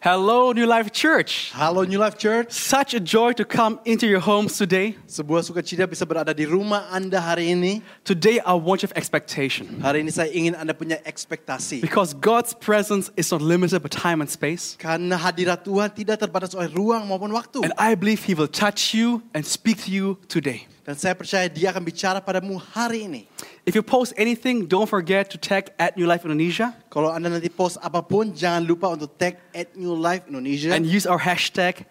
Hello, New Life Church. Halo New Life Church. Such a joy to come into your homes today. Sebuah sukacita bisa berada di rumah Anda hari ini. Today, I want you to have expectation. Hari ini saya ingin Anda punya ekspektasi. Because God's presence is not limited by time and space. Karena hadirat Tuhan tidak terbatas oleh ruang maupun waktu. And I believe He will touch you and speak to you today. Dan saya percaya Dia akan bicara padamu hari ini. If you post anything, don't forget to tag @NewLifeIndonesia. Kalau Anda nanti post apapun, jangan lupa untuk tag @NewLifeIndonesia. And use our hashtag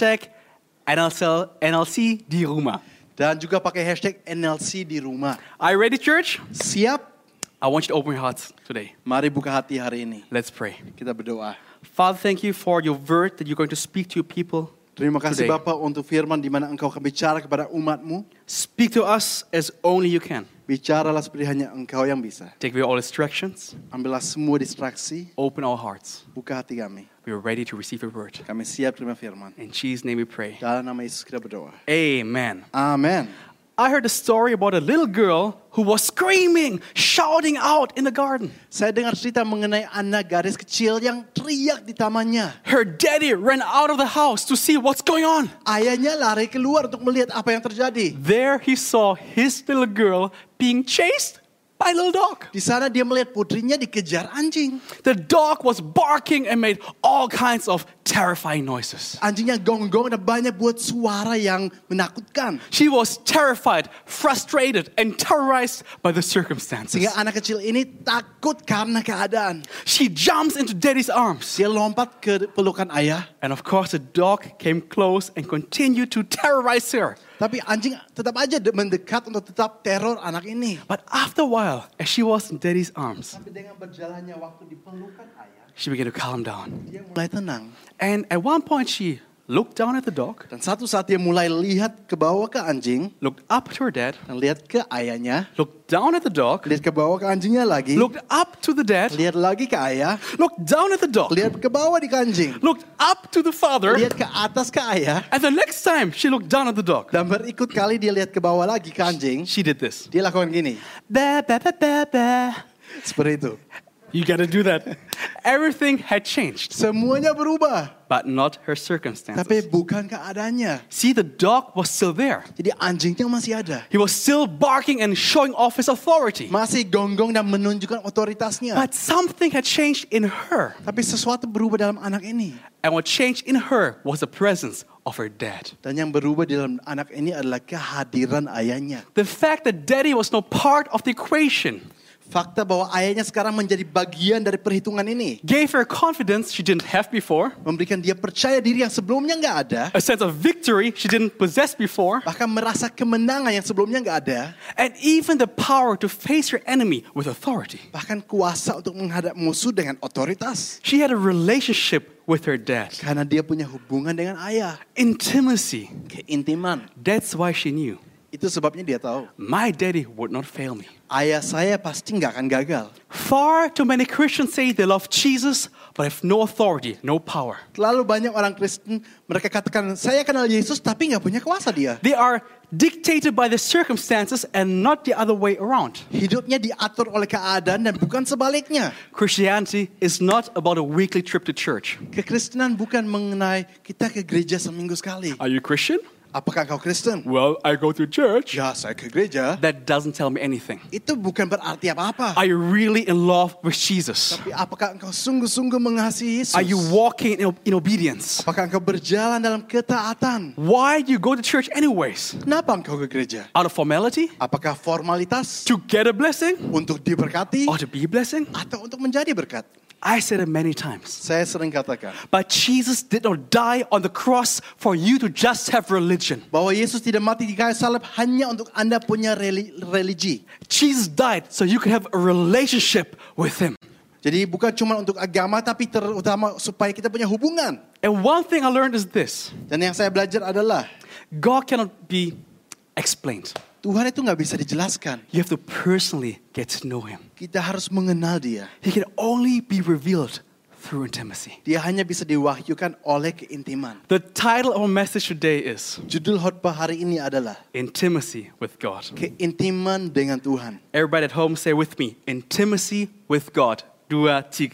NLC di rumah. Dan juga pakai hashtag NLC di rumah. Are you ready, church? Siap? I want you to open your hearts today. Mari buka hati hari ini. Let's pray. Kita berdoa. Father, thank you for your word that you're going to speak to your people. Terima kasih Today. Bapa untuk firman di mana Engkau akan bicara kepada umat-Mu. Speak to us as only you can. Bicaralah seperti hanya Engkau yang bisa. Take away all distractions. Ambillah semua distraksi. Open our hearts. Buka hati kami. We are ready to receive your word. Kami siap terima firman. In Jesus' name we pray. Dalam nama Yesus kita berdoa. Amen. Amin. I heard a story about a little girl who was screaming, shouting out in the garden. Saya dengar cerita mengenai anak gadis kecil yang teriak di tamannya. Her daddy ran out of the house to see what's going on. Ayahnya lari keluar untuk melihat apa yang terjadi. There he saw his little girl being chased by a little dog. Di sana dia melihat putrinya dikejar anjing. The dog was barking and made all kinds of terrifying noises. Anjingnya gonggong dan banyak buat suara yang menakutkan. She was terrified, frustrated, and terrorized by the circumstances. Sehingga anak kecil ini takut karena keadaan. She jumps into daddy's arms. Dia lompat ke pelukan ayah. And of course, the dog came close and continued to terrorize her. Tapi anjing tetap aja mendekat untuk tetap teror anak ini. But after a while, as she was in daddy's arms, Tapi dengan berjalannya waktu di pelukan ayah, she began to calm down. dia mulai tenang. And at one point, she looked down at the dog, Dan satu saat dia mulai lihat ke bawah ke anjing, looked up to her dad, dan lihat ke ayahnya, looked down at the dog, lihat ke bawah ke anjingnya lagi, looked up to the dad, lihat lagi ke ayah, looked down at the dog, lihat ke bawah di anjing, looked up to the father, lihat ke atas ke ayah, and the next time she looked down at the dog, dan berikut kali dia lihat ke bawah lagi ke anjing, she did this. dia lakukan gini, Ba, ba, ba, ba, ba. seperti itu. You gotta do that. Everything had changed, Semuanya berubah, but not her tapi circumstances. bukan keadaannya. See, the dog was still there. Jadi anjingnya masih ada, He was still barking and showing off his authority. masih gonggong dan menunjukkan otoritasnya. But something had changed in her. Tapi sesuatu berubah dalam anak ini. And what changed in her was the presence of her dad. Dan yang berubah di dalam anak ini adalah kehadiran ayahnya. The fact that daddy was no part of the equation Fakta bahwa ayahnya sekarang menjadi bagian dari perhitungan ini. gave her confidence she didn't have before, Memberikan dia percaya diri yang sebelumnya nggak ada. a sense of victory she didn't possess before, Bahkan merasa kemenangan yang sebelumnya nggak ada. and even the power to face her enemy with authority. Bahkan kuasa untuk menghadap musuh dengan otoritas. She had a relationship with her dad. Karena dia punya hubungan dengan ayah. Intimacy. Keintiman. That's why she knew. Itu sebabnya dia tahu. My daddy would not fail me. Ayah saya pasti nggak akan gagal. Far too many Christians say they love Jesus, but have no authority, no power. Terlalu banyak orang Kristen, mereka katakan, saya kenal Yesus tapi nggak punya kuasa dia. They are dictated by the circumstances and not the other way around. Hidupnya diatur oleh keadaan dan bukan sebaliknya. Christianity is not about a weekly trip to church. Kekristenan bukan mengenai kita ke gereja seminggu sekali. Are you Christian? Apakah kau Kristen? Well, I go to church. Ya, saya ke gereja. That doesn't tell me anything. Itu bukan berarti apa-apa. Are you really in love with Jesus? Tapi apakah engkau sungguh-sungguh mengasihi Yesus? Are you walking in obedience? Apakah engkau berjalan dalam ketaatan? Why do you go to church anyways? Kenapa engkau ke gereja? Out of formality? Apakah formalitas? To get a blessing? Untuk diberkati? Or to be a blessing? Atau untuk menjadi berkat? I said it many times. Saya sering katakan But Jesus did not die on the cross for you to just have religion. bahwa Yesus tidak mati di kayu salib hanya untuk Anda punya religi. Jesus died so you could have a relationship with Him. Jadi bukan cuma untuk agama tapi terutama supaya kita punya hubungan. And one thing I learned is this. Dan yang saya belajar adalah God cannot be explained. Tuhan itu nggak bisa dijelaskan. You have to personally get to know Him. Kita harus mengenal Dia. He can only be revealed through intimacy. Dia hanya bisa diwahyukan oleh keintiman. The title of our message today is Judul khotbah hari ini adalah Intimacy with God. keintiman dengan Tuhan. Everybody at home say with me, intimacy with God. 2, 3.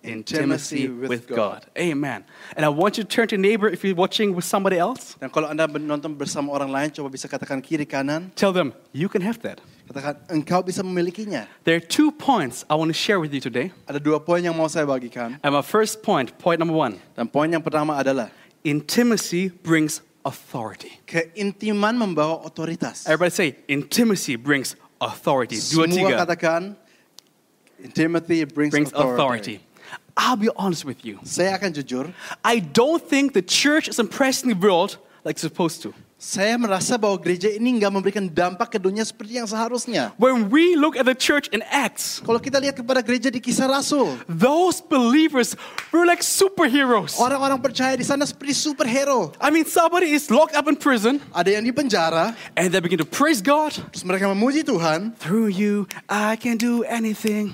intimacy with God. Amen. And I want you to turn to your neighbor if you're watching with somebody else. Dan kalau Anda menonton bersama orang lain, coba bisa katakan kiri kanan. Tell them, you can have that. Katakan, engkau bisa memilikinya. There are 2 points I want to share with you today. Ada 2 poin yang mau saya bagikan. And my first point number 1. Dan poin yang pertama adalah Intimacy brings authority. keintiman membawa otoritas. Everybody say, intimacy brings authority. 2, Semua 3. katakan, intimacy brings authority. I'll be honest with you. Saya akan jujur, I don't think the church is impressing the world like it's supposed to. saya merasa bahwa gereja ini nggak memberikan dampak ke dunia seperti yang seharusnya. When we look at the church in Acts, Kalau kita lihat kepada gereja di Kisah Rasul, those believers were like superheroes. orang-orang percaya di sana seperti superhero. I mean, somebody is locked up in prison Ada yang di penjara, and they begin to praise God. terus mereka memuji Tuhan. Through you, I can do anything.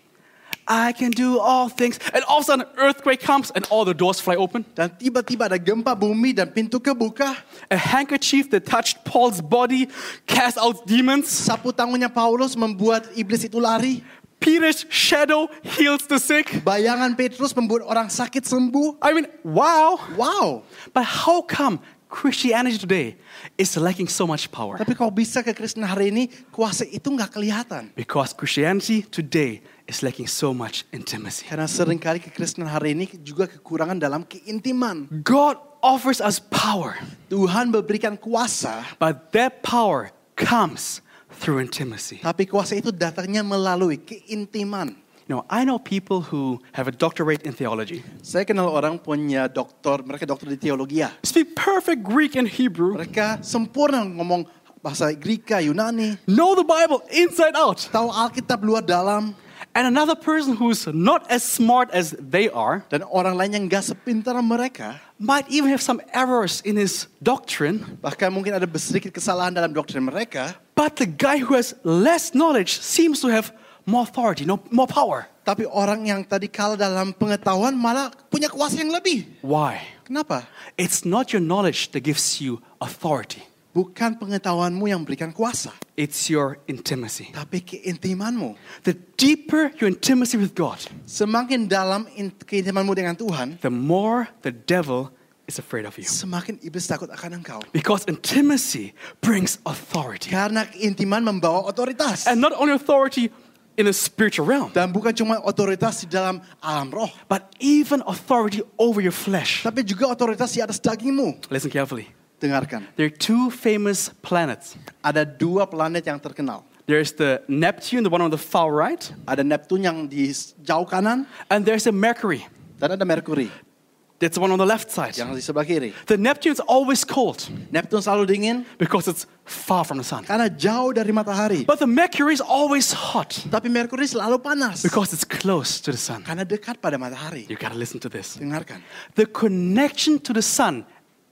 I can do all things. And all of a sudden, an earthquake comes and all the doors fly open. Dan tiba-tiba ada gempa bumi dan pintu kebuka. A handkerchief that touched Paul's body cast out demons. Sapu tangannya Paulus membuat iblis itu lari. Peter's shadow heals the sick. Bayangan Petrus membuat orang sakit sembuh. I mean, wow. Wow. But how come Christianity today is lacking so much power? Tapi kalau bisa ke Kristen hari ini, kuasa itu nggak kelihatan. Because Christianity today is lacking so much intimacy. Karena seringkali kekristenan hari ini juga kekurangan dalam keintiman. God offers us power, Tuhan memberikan kuasa, but that power comes through intimacy. tapi kuasa itu datangnya melalui keintiman. You know, I know people who have a doctorate in theology, Saya kenal orang punya doktor, mereka doktor di teologi ya. speak perfect Greek and Hebrew, Mereka sempurna ngomong bahasa Greka, Yunani, know the Bible inside out. tahu Alkitab luar dalam. And another person who's not as smart as they are Dan orang lain yang gak sepintar mereka, might even have some errors in his doctrine. bahkan mungkin ada sedikit kesalahan dalam doktrin mereka. But the guy who has less knowledge seems to have more authority, more power. Tapi orang yang tadi kalah dalam pengetahuan malah punya kuasa yang lebih. Why? Kenapa? It's not your knowledge that gives you authority. Bukan pengetahuanmu yang memberikan kuasa, It's your intimacy. tapi keintimanmu. The deeper your intimacy with God, Semakin dalam keintimanmu dengan Tuhan, the more the devil is afraid of you. semakin iblis takut akan engkau. Because intimacy brings authority. Karena keintiman membawa otoritas. And not only authority in a spiritual realm, Dan bukan cuma otoritas di dalam alam roh, but even authority over your flesh. tapi juga otoritas di atas dagingmu. Listen carefully. Dengarkan, There are 2 famous planets. ada 2 planet yang terkenal. There's the Neptune, the one on the far right, Ada Neptune yang di jauh kanan, and there's a Mercury. dan ada Merkuri That's the one on the left side. yang di sebelah kiri. The Neptune is always cold Neptune selalu dingin because it's far from the sun. karena jauh dari matahari. But the Mercury is always hot Tapi Merkuri selalu panas because it's close to the sun. karena dekat pada matahari. You gotta listen to this. Dengarkan. The connection to the sun,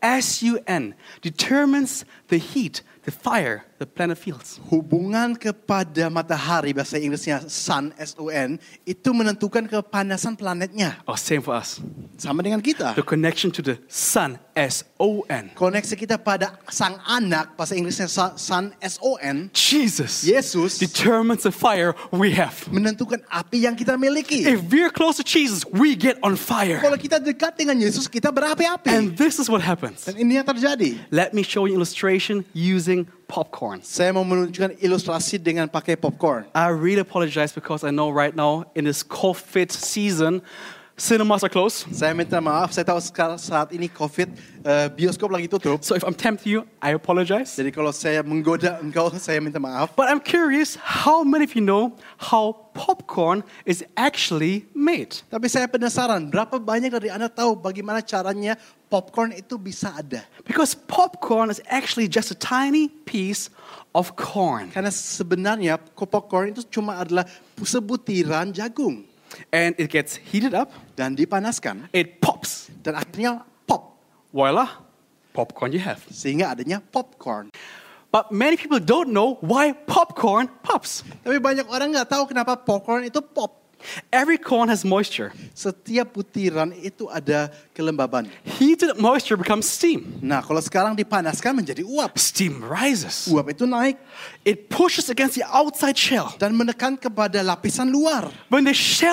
SUN, determines the heat, the fire the planet feels. Hubungan kepada matahari, bahasa Inggrisnya sun, S-U-N, itu menentukan kepanasan planetnya. Oh, same for us. Sama dengan kita. The connection to the sun, SON. Koneksi kita pada sang anak, bahasa Inggrisnya sun, S-O-N, Jesus Yesus determines the fire we have. menentukan api yang kita miliki. If we're close to Jesus, we get on fire. Kalau kita dekat dengan Yesus, kita berapi-api. And this is what happens. Dan ini yang terjadi. Let me show you illustration using popcorn. Saya mau menunjukkan ilustrasi dengan pakai popcorn. I really apologize because I know right now in this COVID season, cinemas are closed. Saya minta maaf, saya tahu sekarang saat ini COVID, bioskop lagi tutup. So if I'm tempting you, I apologize. Jadi kalau saya menggoda engkau, saya minta maaf. But I'm curious, how many of you know how popcorn is actually made? Tapi saya penasaran, berapa banyak dari Anda tahu bagaimana caranya popcorn itu bisa ada? Because popcorn is actually just a tiny piece of corn. Karena sebenarnya popcorn itu cuma adalah sebutiran jagung. And it gets heated up, Dan dipanaskan, it pops. dan akhirnya pop. Voila, popcorn you have. Sehingga adanya popcorn. But many people don't know why popcorn pops. Tapi banyak orang nggak tahu kenapa popcorn itu pop. Every corn has moisture. Setiap butiran itu ada kelembaban. Heated moisture becomes steam. Nah, kalau sekarang dipanaskan menjadi uap. Steam rises. Uap itu naik It pushes against the outside shell. dan menekan kepada lapisan luar. When the shell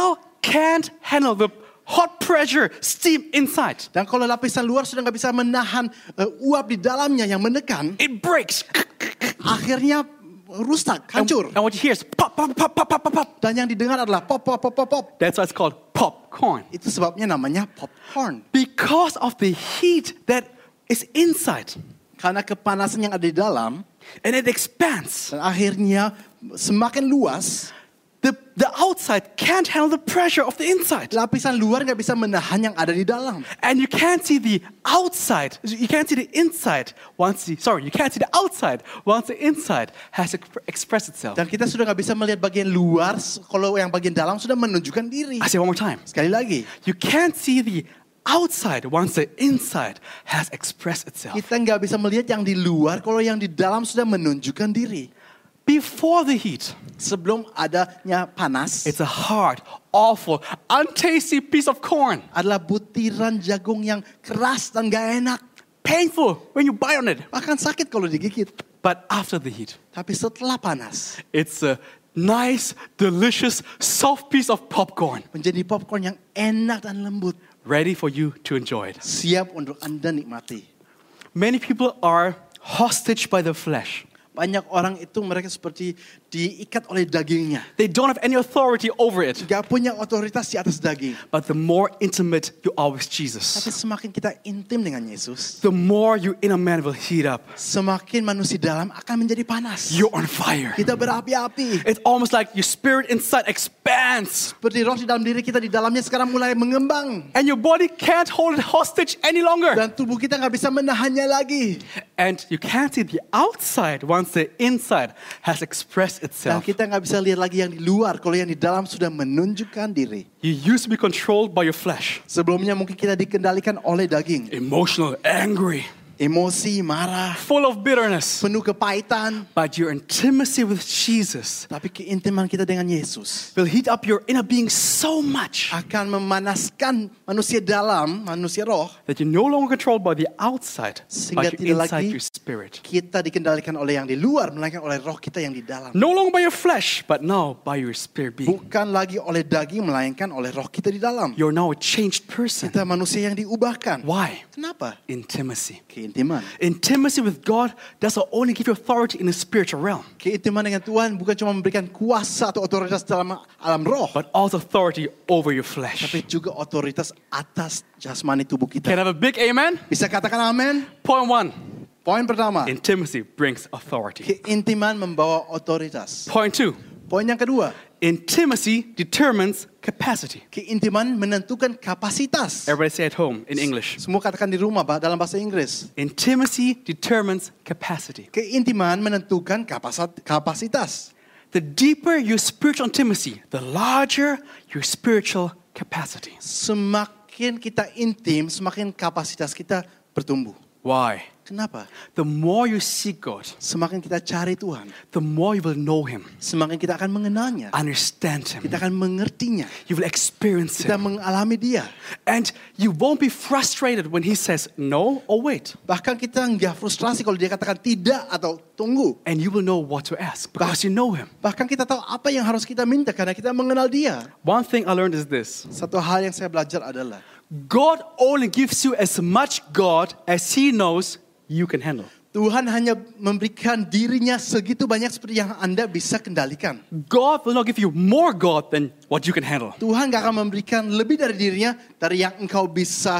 can't handle the hot pressure, steam inside, Dan kalau lapisan luar sudah nggak bisa menahan uap di dalamnya yang menekan, it breaks. akhirnya rusak, hancur. And what you hear is pop, pop, pop, pop, pop, pop, pop. Dan yang didengar adalah pop, pop, pop, pop, pop. That's why it's called popcorn. Itu sebabnya namanya popcorn. Because of the heat that is inside. Karena kepanasan yang ada di dalam, And it expands. dan akhirnya semakin luas, The outside can't handle the pressure of the inside. lapisan luar nggak bisa menahan yang ada di dalam. And you can't see the outside. You can't see the inside you can't see the outside once the inside has expressed itself. Dan kita sudah nggak bisa melihat bagian luar kalau yang bagian dalam sudah menunjukkan diri. I say one more time. Sekali lagi, You can't see the outside once the inside has expressed itself. kita nggak bisa melihat yang di luar kalau yang di dalam sudah menunjukkan diri. Before the heat, Sebelum adanya panas, it's a hard, awful, untasty piece of corn. adalah butiran jagung yang keras dan gak enak. Painful when you bite on it. Bahkan sakit kalau digigit. But after the heat, Tapi setelah panas, it's a nice, delicious, soft piece of popcorn. menjadi popcorn yang enak dan lembut. Ready for you to enjoy it. Siap untuk Anda nikmati. Many people are hostage by the flesh. Banyak orang itu mereka seperti diikat oleh dagingnya. They don't have any authority over it. Gak punya otoritas di atas daging. But the more intimate you are with Tapi Jesus, semakin kita intim dengan Yesus, the more your inner man will heat up. semakin manusia dalam akan menjadi panas. You're on fire. Kita berapi-api. It's almost like your spirit inside expands. Seperti roh di dalam diri kita di dalamnya sekarang mulai mengembang. And your body can't hold it hostage any longer. Dan tubuh kita gak bisa menahannya lagi. And you can't see the outside once the inside has expressed Dan itself. kita gak bisa lihat lagi yang di luar kalau yang di dalam sudah menunjukkan diri. You used to be controlled by your flesh. Sebelumnya mungkin kita dikendalikan oleh daging. Emotional, angry, Emosi, marah, full of bitterness. penuh kepahitan. But your intimacy with Jesus Tapi keintiman kita dengan Yesus will heat up your inner being so much akan memanaskan manusia dalam, manusia roh. that you're no longer controlled by the outside, Sehingga but tidak you're inside lagi your spirit. kita dikendalikan oleh yang di luar, melainkan oleh roh kita yang di dalam. No longer by your flesh, but now by your spirit being. Bukan lagi oleh daging, melainkan oleh roh kita di dalam. You're now a changed person. Kita manusia yang diubahkan. Why? Kenapa? Intimacy. Keintiman. Intimacy with God doesn't only give you authority in the spiritual realm, Keintiman dengan Tuhan bukan cuma memberikan kuasa atau otoritas dalam alam roh, but also authority over your flesh. tapi juga otoritas atas jasmani tubuh Can I kita. have a big amen? Bisa katakan amin? Point one, Poin pertama, intimacy brings authority. keintiman membawa otoritas. Point two, Poin yang kedua, intimacy determines capacity. keintiman menentukan kapasitas. Everybody say at home in English. Semua katakan di rumah dalam bahasa Inggris. Intimacy determines capacity. Keintiman menentukan kapasitas. The deeper your spiritual intimacy, the larger your spiritual capacity. Semakin kita intim, semakin kapasitas kita bertumbuh. Why? Kenapa? The more you seek God, Semakin kita cari Tuhan, the more you will know Him, semakin kita akan mengenalnya. understand Him. Kita akan mengertinya. You will experience Kita Him. mengalami Dia. And you won't be frustrated when He says no or wait. Bahkan kita nggak frustrasi kalau Dia katakan tidak atau tunggu. And you will know what to ask because you know Him. Bahkan kita tahu apa yang harus kita minta karena kita mengenal Dia. One thing I learned is this. Satu hal yang saya belajar adalah God only gives you as much God as He knows you can handle. Tuhan hanya memberikan dirinya segitu banyak seperti yang Anda bisa kendalikan. God will not give you more God than what you can handle. Tuhan gak akan memberikan lebih dari dirinya dari yang engkau bisa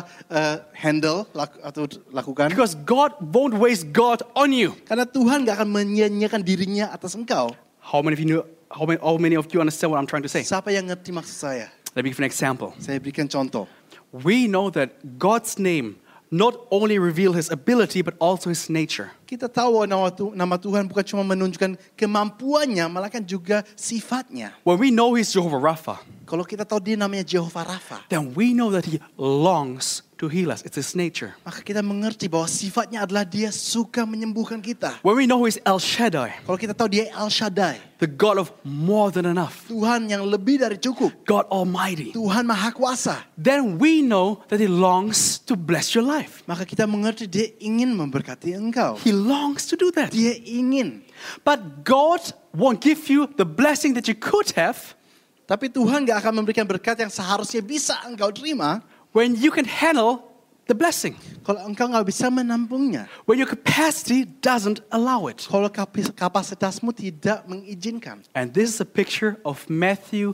handle atau lakukan. Because God won't waste God on you. Karena Tuhan gak akan menyia-nyiakan dirinya atas engkau. How many of you understand what I'm trying to say? Siapa yang ngerti maksud saya? Let me give an example. Saya berikan contoh. We know that God's name not only reveal His ability but also His nature. Kita tahu nama Tuhan bukan cuma menunjukkan kemampuannya, melainkan juga sifatnya. When we know He's Jehovah Rapha, Kalau kita tahu dia namanya Jehovah Rafa, then we know that He longs to heal us. It's His nature. maka kita mengerti bahwa sifatnya adalah dia suka menyembuhkan kita. When we know He's El Shaddai, Kalau kita tahu dia El Shaddai, the God of more than enough, Tuhan yang lebih dari cukup, God Almighty, Tuhan Maha Kuasa, then we know that He longs to bless your life. maka kita mengerti dia ingin memberkati engkau. He longs to do that. Dia ingin. But God won't give you the blessing that you could have Tapi Tuhan gak akan memberikan berkat yang seharusnya bisa engkau terima when you can handle the blessing. kalau engkau gak bisa menampungnya. When your capacity doesn't allow it. Kalau kapasitasmu tidak mengizinkan. And this is a picture of Matthew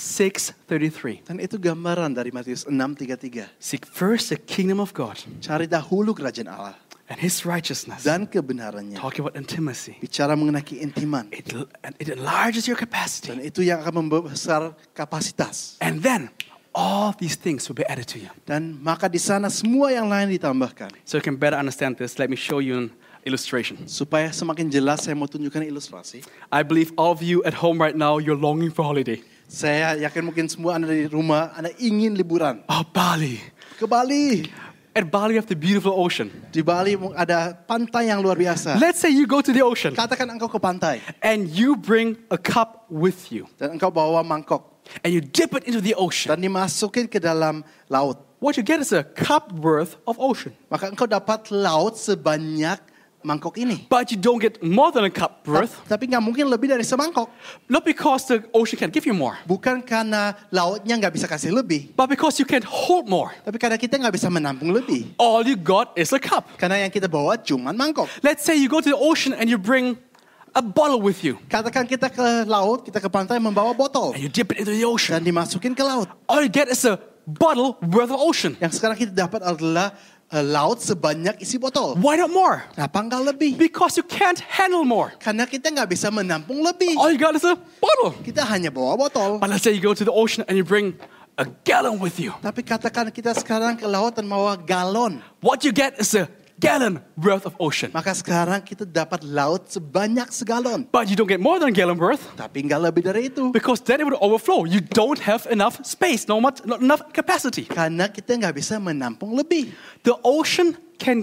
6:33. Dan itu gambaran dari Matius 6:33. Seek first the kingdom of God Cari dahulu kerajaan Allah and His righteousness. dan kebenarannya. Talking about intimacy. Bicara mengenai keintiman. It enlarges your Dan capacity. itu yang akan membesar kapasitas. And then all these things will be added to you. Dan maka di sana semua yang lain ditambahkan. So you can better understand this, let me show you an illustration. Supaya semakin jelas saya mau tunjukkan ilustrasi. I believe all of you at home right now, you're longing for holiday. Saya yakin mungkin semua Anda di rumah, Anda ingin liburan. Oh, Bali. Ke Bali. At Bali, you have the beautiful ocean. Di Bali ada pantai yang luar biasa. Let's say you go to the ocean Katakan engkau ke pantai. and you bring a cup with you Dan engkau bawa mangkok. and you dip it into the ocean. Dan dimasukin ke dalam laut. What you get is a cup worth of ocean. Maka engkau dapat laut sebanyak mangkok ini. But you don't get more than a cup worth, Tapi nggak mungkin lebih dari semangkok. not because the ocean can give you more, Bukan karena lautnya nggak bisa kasih lebih. but because you can hold more. Tapi karena kita nggak bisa menampung lebih. All you got is a cup. Karena yang kita bawa cuma mangkok. Let's say you go to the ocean and you bring a bottle with you Katakan kita ke laut, kita ke pantai membawa botol. and you dip it into the ocean. Dan dimasukin ke laut. All you get is a bottle worth of ocean. Yang sekarang kita dapat adalah laut sebanyak isi botol. Why not more? Kenapa nggak lebih? Because you can't handle more. Karena kita nggak bisa menampung lebih. All you got is a bottle. Kita hanya bawa botol. But let's say you go to the ocean and you bring a gallon with you. Tapi katakan kita sekarang ke laut dan bawa galon. What you get is a gallon worth of ocean. Maka sekarang kita dapat laut sebanyak segalon. But you don't get more than a gallon worth Tapi nggak lebih dari itu. because then it would overflow. You don't have enough space, not enough capacity. Karena kita nggak bisa menampung lebih. The ocean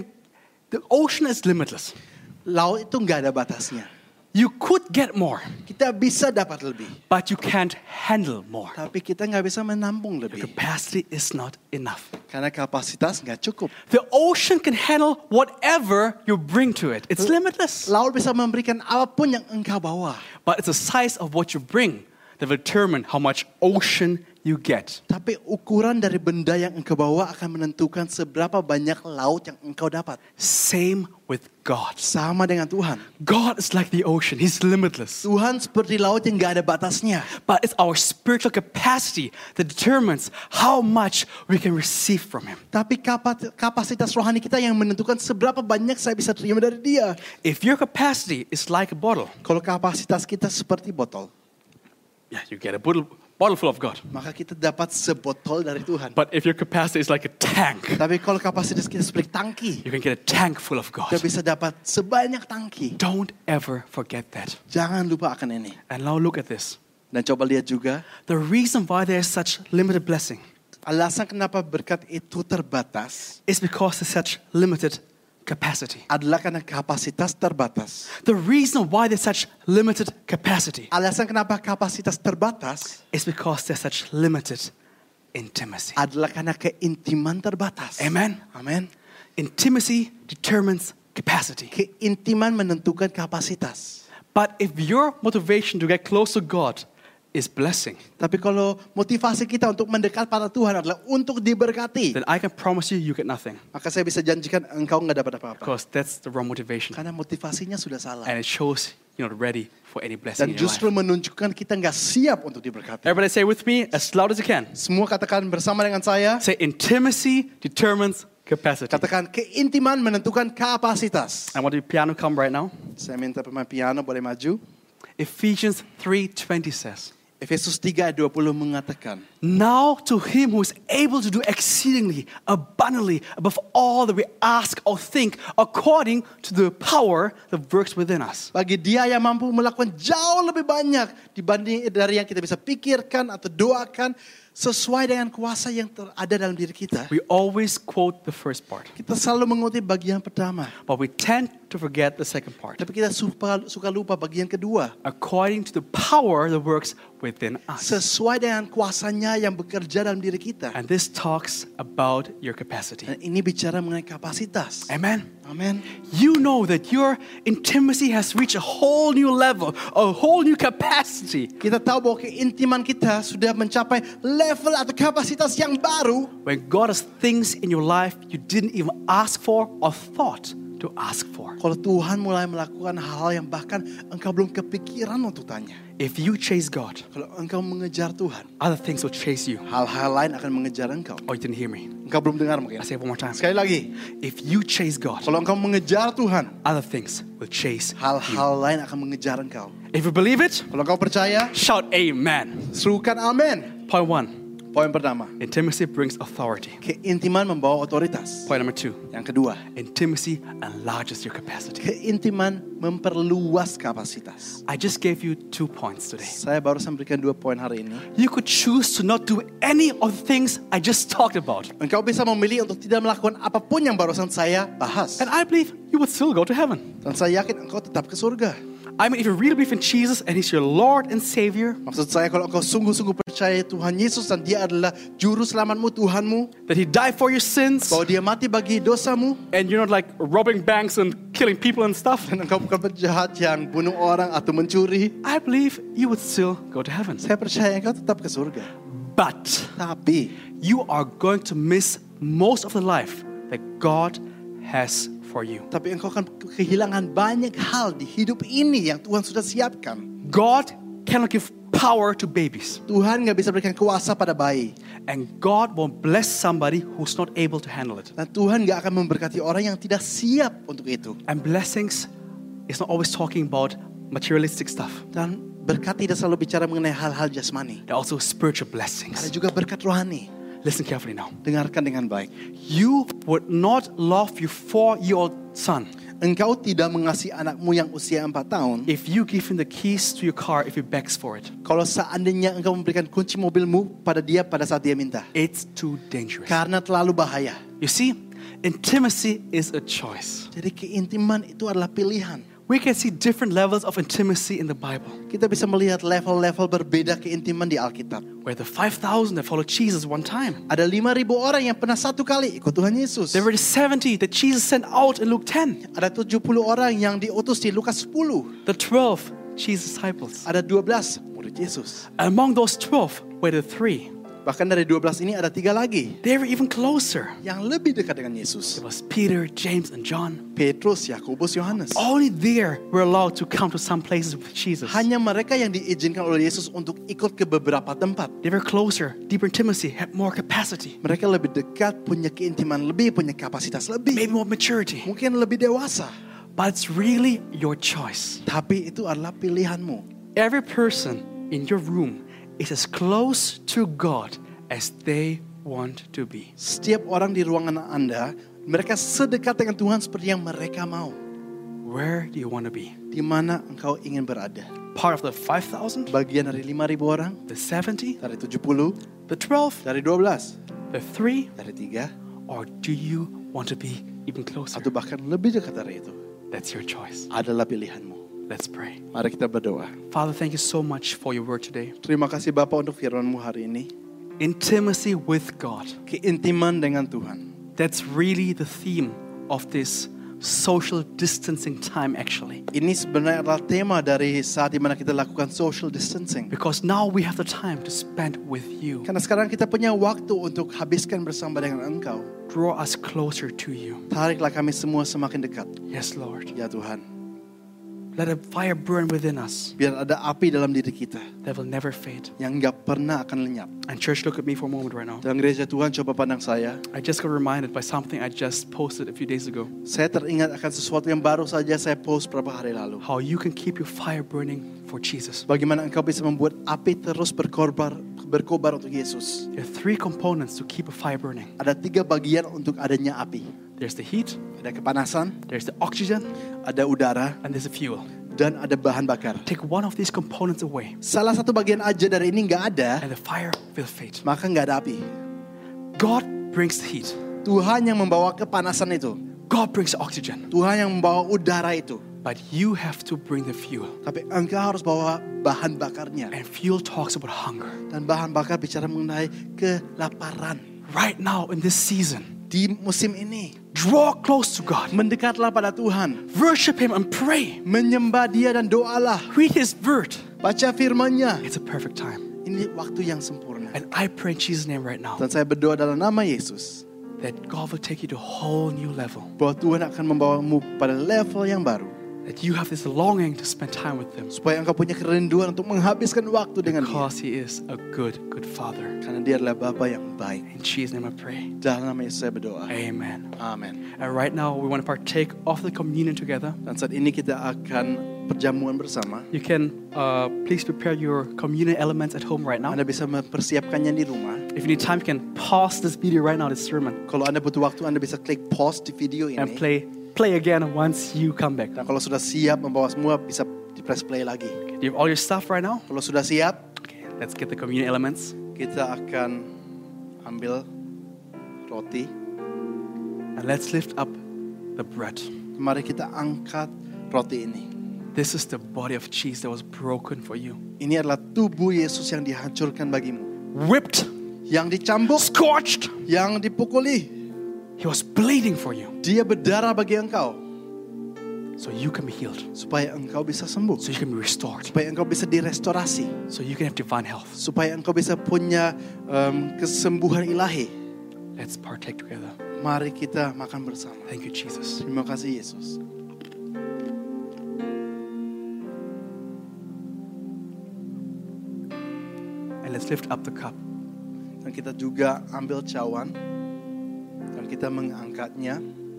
is limitless. Laut itu nggak ada batasnya. You could get more, Kita bisa dapat lebih. but you can't handle more. Tapi kita nggak bisa menampung Your lebih. capacity is not enough. Karena kapasitas nggak cukup. The ocean can handle whatever you bring to it. It's limitless. Laut bisa memberikan apapun yang engkau bawa. But it's the size of what you bring that will determine how much ocean you get. Tapi ukuran dari benda yang engkau bawa akan menentukan seberapa banyak laut yang engkau dapat. Same with God. Sama dengan Tuhan. God is like the ocean. He's limitless. Tuhan seperti laut yang nggak ada batasnya. But it's our spiritual capacity that determines how much we can receive from Him. Tapi kapasitas rohani kita yang menentukan seberapa banyak saya bisa terima dari Dia. If your capacity is like a bottle, Kalau kapasitas kita seperti botol, yeah, you get a bottle full of God. maka kita dapat sebotol dari Tuhan. But if your capacity is like a tank, Tapi kalau kapasitas kita seperti tangki, you can get a tank full of God. kita bisa dapat sebanyak tangki. Don't ever forget that. Jangan lupa akan ini. And now look at this. Dan coba lihat juga, The reason why there's such limited blessing alasan kenapa berkat itu terbatas is because there's such limited capacity. adalah karena kapasitas terbatas. The reason why there's such limited capacity Alasan kenapa kapasitas terbatas is because there's such limited intimacy. adalah karena keintiman terbatas. Amen. Amin. Intimacy determines capacity. Keintiman menentukan kapasitas. But if your motivation to get close to God is blessing, Tapi kalau motivasi kita untuk mendekat pada Tuhan adalah untuk diberkati, then I can promise you get nothing. maka saya bisa janjikan engkau nggak dapat apa-apa. Because that's the wrong motivation. Karena motivasinya sudah salah. And it shows you're not ready for any blessing Dan in your life. justru menunjukkan kita nggak siap untuk diberkati. Everybody say with me as loud as you can. Semua katakan bersama dengan saya. Say intimacy determines capacity. Katakan keintiman menentukan kapasitas. I want the piano come right now. Saya minta pemain piano boleh maju. Ephesians 3:20 says, Efesus 3 ayat 20 mengatakan, now to him who is able to do exceedingly, abundantly, above all that we ask or think, according to the power that works within us. bagi Dia yang mampu melakukan jauh lebih banyak dibanding dari yang kita bisa pikirkan atau doakan, sesuai dengan kuasa yang ada dalam diri kita. We always quote the first part, Kita selalu mengutip bagian pertama, but we tend to forget the second part. tapi kita suka lupa bagian kedua. According to the power that works within us. Sesuai dengan kuasanya Dia yang bekerja dalam diri kita. And this talks about your capacity. Dan ini bicara mengenai kapasitas. Amen. Amin. You know that your intimacy has reached a whole new level, a whole new capacity. Kita tahu bahwa keintiman kita sudah mencapai level atau kapasitas yang baru. When God has things in your life you didn't even ask for or thought to ask for. Kalau Tuhan mulai melakukan hal-hal yang bahkan engkau belum kepikiran untuk tanya. If you chase God, Kalau engkau mengejar Tuhan, other things will chase you. hal-hal lain akan mengejar engkau. Oh, you didn't hear me. Engkau belum dengar mungkin. I say it one more time. Sekali lagi, If you chase God, kalau engkau mengejar Tuhan, other things will chase you. hal-hal lain akan mengejar engkau. If you believe it, Kalau engkau percaya, shout amen. serukan amin. Point 1, Poin pertama, intimacy brings authority. keintiman membawa otoritas. Point number 2, Yang kedua, intimacy enlarges your capacity. keintiman memperluas kapasitas. I just gave you 2 points today. Saya barusan berikan 2 poin hari ini. You could choose to not do any of the things I just talked about. Engkau bisa memilih untuk tidak melakukan apapun yang barusan saya bahas. And I believe you would still go to heaven. Dan saya yakin engkau tetap ke surga. I mean, if you really believe in Jesus and He's your Lord and Savior, Maksud saya kalau engkau sungguh-sungguh percaya Tuhan Yesus dan Dia adalah juru selamatmu, Tuhanmu, that He died for your sins, bahwa Dia mati bagi dosamu, and you're not like robbing banks and killing people and stuff, dan engkau bukan penjahat yang bunuh orang atau mencuri, I believe you would still go to heaven. saya percaya engkau tetap ke surga. But Tapi you are going to miss most of the life that God has for you. Tapi engkau akan kehilangan banyak hal di hidup ini yang Tuhan sudah siapkan. God cannot give power to babies, Tuhan gak bisa berikan kuasa pada bayi. and God won't bless somebody who's not able to handle it. Dan Tuhan gak akan memberkati orang yang tidak siap untuk itu. And blessings is not always talking about materialistic stuff. Dan berkat tidak selalu bicara mengenai hal-hal jasmani. There are also spiritual Ada blessings. juga berkat rohani. Listen carefully now. Dengarkan dengan baik. You would not love your 4-year-old son Engkau tidak mengasihi anakmu yang usia 4 tahun if you give him the keys to your car if he begs for it. kalau seandainya engkau memberikan kunci mobilmu pada dia pada saat dia minta. It's too dangerous. Karena terlalu bahaya. You see, intimacy is a choice. Jadi keintiman itu adalah pilihan. We can see different levels of intimacy in the Bible. Kita bisa melihat level-level berbeda keintiman di Alkitab. Where the 5,000 that followed Jesus one time. Ada 5.000 orang yang pernah satu kali ikut Tuhan Yesus. There were the 70 that Jesus sent out in Luke 10. Ada 70 orang yang diutus di Lukas 10. The 12, Jesus' disciples. Ada 12 murid Yesus. Among those 12 were the 3. Bahkan dari 12 ini ada 3 lagi They were even closer. yang lebih dekat dengan Yesus. It was Peter, James, and John. Petrus, Yakobus, Yohanes. Only there were allowed to come to some places with Jesus. Hanya mereka yang diizinkan oleh Yesus untuk ikut ke beberapa tempat. They were closer, deeper intimacy, had more capacity, Mereka lebih dekat, punya keintiman lebih, punya kapasitas lebih. maybe more maturity. Mungkin lebih dewasa. But it's really your choice. Tapi itu adalah pilihanmu. Every person in your room is as close to God as they want to be. Setiap orang di ruangan Anda, mereka sedekat dengan Tuhan seperti yang mereka mau. Where do you want to be? Di mana engkau ingin berada? Part of the 5,000? Bagian dari 5.000 orang, The 70? dari 70, The 12? dari 12, The 3? dari 3, Or do you want to be even closer? atau bahkan lebih dekat dari itu? That's your choice. Adalah pilihanmu. Let's pray. Mari kita berdoa. Father, thank you so much for your word today. Terima kasih Bapa untuk firman-Mu hari ini. Intimacy with God. Keintiman dengan Tuhan. That's really the theme of this social distancing time actually. Ini sebenarnya adalah tema dari saat dimana kita lakukan social distancing. Because now we have the time to spend with you. Karena sekarang kita punya waktu untuk habiskan bersama dengan Engkau. Draw us closer to you. Tariklah kami semua semakin dekat. Yes, Lord. Ya Tuhan. Let a fire burn within us Biar ada api dalam diri kita that will never fade. yang gak pernah akan lenyap. And church, look at me for a moment right now. Dalam gereja Tuhan, coba pandang saya. I just got reminded by something I just posted a few days ago. Saya teringat akan sesuatu yang baru saja saya post beberapa hari lalu. How you can keep your fire burning for Jesus. Bagaimana engkau bisa membuat api terus berkobar untuk Yesus. There are 3 components to keep a fire burning. Ada 3 bagian untuk adanya api. There's the heat, Ada kepanasan, there's the oxygen, ada udara, and there's the fuel. dan ada bahan bakar. Take one of these components away, Salah satu bagian aja dari ini nggak ada, and the fire will fade. maka nggak ada api. God brings the heat. Tuhan yang membawa kepanasan itu. God brings the oxygen. Tuhan yang membawa udara itu. But you have to bring the fuel. Tapi engkau harus bawa bahan bakarnya. And fuel talks about hunger. Dan bahan bakar bicara mengenai kelaparan. Right now in this season, Di musim ini, draw close to God. mendekatlah pada Tuhan. Worship Him and pray. Menyembah Dia dan doalah. Read His word. Baca firman-Nya. It's a perfect time. Ini waktu yang sempurna. And I pray in Jesus' name right now Dan saya berdoa dalam nama Yesus. that God will take you to a whole new level. Bahwa Tuhan akan membawamu pada level yang baru. That you have this longing to spend time with Him. Supaya engkau punya kerinduan untuk menghabiskan waktu dengan Dia. Because He is a good, good Father. Karena Dia adalah Bapa yang baik. In Jesus' name I pray. Dalam nama Yesus saya berdoa. Amen. Amin. And right now we want to partake of the communion together. Dan saat ini kita akan perjamuan bersama. You can please prepare your communion elements at home right now. Anda bisa mempersiapkannya di rumah. If you need time, you can pause this video right now, this sermon, Kalau Anda butuh waktu, Anda bisa klik pause di video and ini. play again once you come back. Dan kalau sudah siap membawa semua, bisa di press play lagi. Do you have all your stuff right now? Kalau sudah siap, Okay, let's get the communion elements. kita akan ambil roti. And let's lift up the bread. Mari kita angkat roti ini. This is the body of Jesus that was broken for you. Ini adalah tubuh Yesus yang dihancurkan bagimu. Whipped, Yang dicambuk, scorched. yang dipukuli. He was bleeding for you Dia berdarah bagi engkau. so you can be healed, Supaya engkau bisa sembuh. so you can be restored, Supaya engkau bisa direstorasi. so you can have divine health. Supaya engkau bisa punya kesembuhan ilahi. Let's partake together. Mari kita makan bersama. Thank you, Jesus. Terima kasih Yesus. And let's lift up the cup. Dan kita juga ambil cawan. Dan kita mengangkatnya.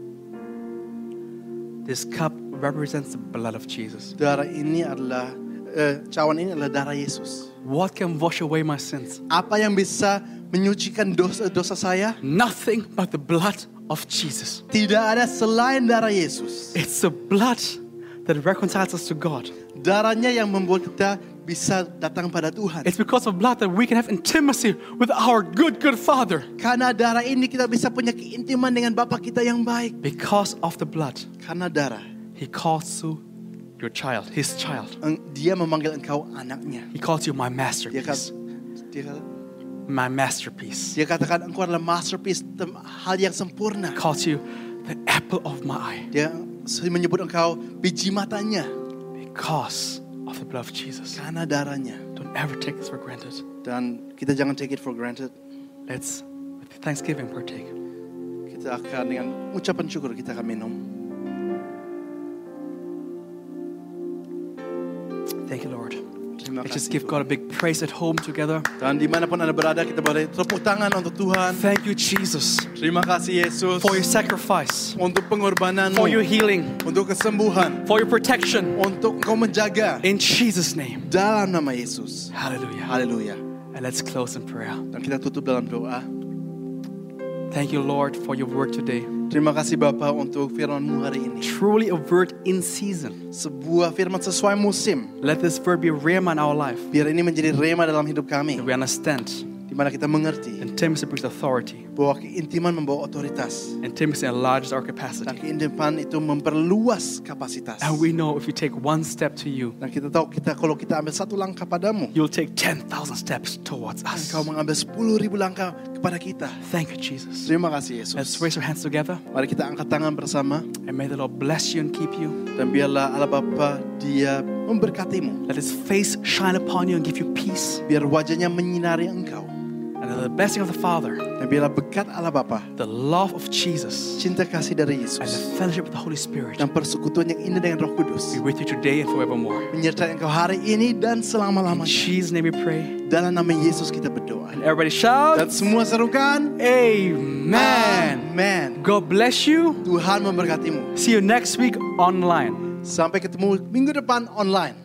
This cup represents the blood of Jesus. Darah ini adalah, cawan ini adalah darah Yesus. What can wash away my sins? Apa yang bisa menyucikan dosa saya? Nothing but the blood of Jesus. Tidak ada selain darah Yesus. It's the blood that reconciles us to God. Darahnya yang membuat kita bisa datang pada Tuhan. It's because of blood that we can have intimacy with our good, good Father. Karena darah ini kita bisa punya keintiman dengan Bapa kita yang baik. Because of the blood, Karena darah, He calls you your child, His child. Dia memanggil engkau anaknya. He calls you my Dia masterpiece. kata, My masterpiece. dia katakan engkau adalah masterpiece, hal yang sempurna. He calls you the apple of my eye. Dia menyebut engkau biji matanya. Because of the blood of Jesus. Karena darahnya. Don't ever take this for granted. Dan kita jangan take it for granted. Let's, with thanksgiving, partake. Kita akan dengan ucapan syukur kita akan minum. Thank you, Lord. Terima Let's just kasih. give God a big praise at home together. Dan dimanapun Anda berada, kita boleh tepuk tangan untuk Tuhan. Thank you, Jesus, Terima kasih Yesus for your sacrifice, untuk pengorbananmu, for your healing, untuk kesembuhan, for your protection. untuk Engkau menjaga. In Jesus' name. Dalam nama Yesus. Hallelujah. Haleluya. And let's close in prayer. Dan kita tutup dalam doa. Thank you, Lord, for your word today. Terima kasih Bapa untuk firman-Mu hari ini. Truly a word in season. Sebuah firman sesuai musim. Let this word be a rhema in our life. Biar ini menjadi rema dalam hidup kami. That we understand. Di mana kita mengerti Intimacy brings authority. bahwa keintiman membawa otoritas. Intimacy enlarges our Dan capacity. keintiman itu memperluas kapasitas. And we know if we take one step to you, Dan kita tahu kalau kita ambil satu langkah padamu, you'll take 10,000 steps towards us. Engkau mengambil 10.000 langkah kepada kita. Thank you, Jesus. Terima kasih Yesus. Let's raise our hands together. Mari kita angkat tangan bersama. And may the Lord bless you and keep you. Dan biarlah Allah Bapa Dia memberkatimu. Let His face shine upon you and give you peace. Biar wajahnya menyinari engkau. And let the blessing of the Father, Dan biarlah berkat Allah Bapa, the love of Jesus, cinta kasih dari and the Yesus, fellowship of the Holy Spirit dan persekutuan yang indah dengan Roh Kudus be with you today and forevermore. menyertai engkau hari ini dan In selama-lamanya. Jesus' name we pray. Dalam nama Yesus kita berdoa. And everybody shout, Dan semua serukan, Amen. Amen. God bless you. Tuhan memberkatimu. See you next week online. Sampai ketemu minggu depan online.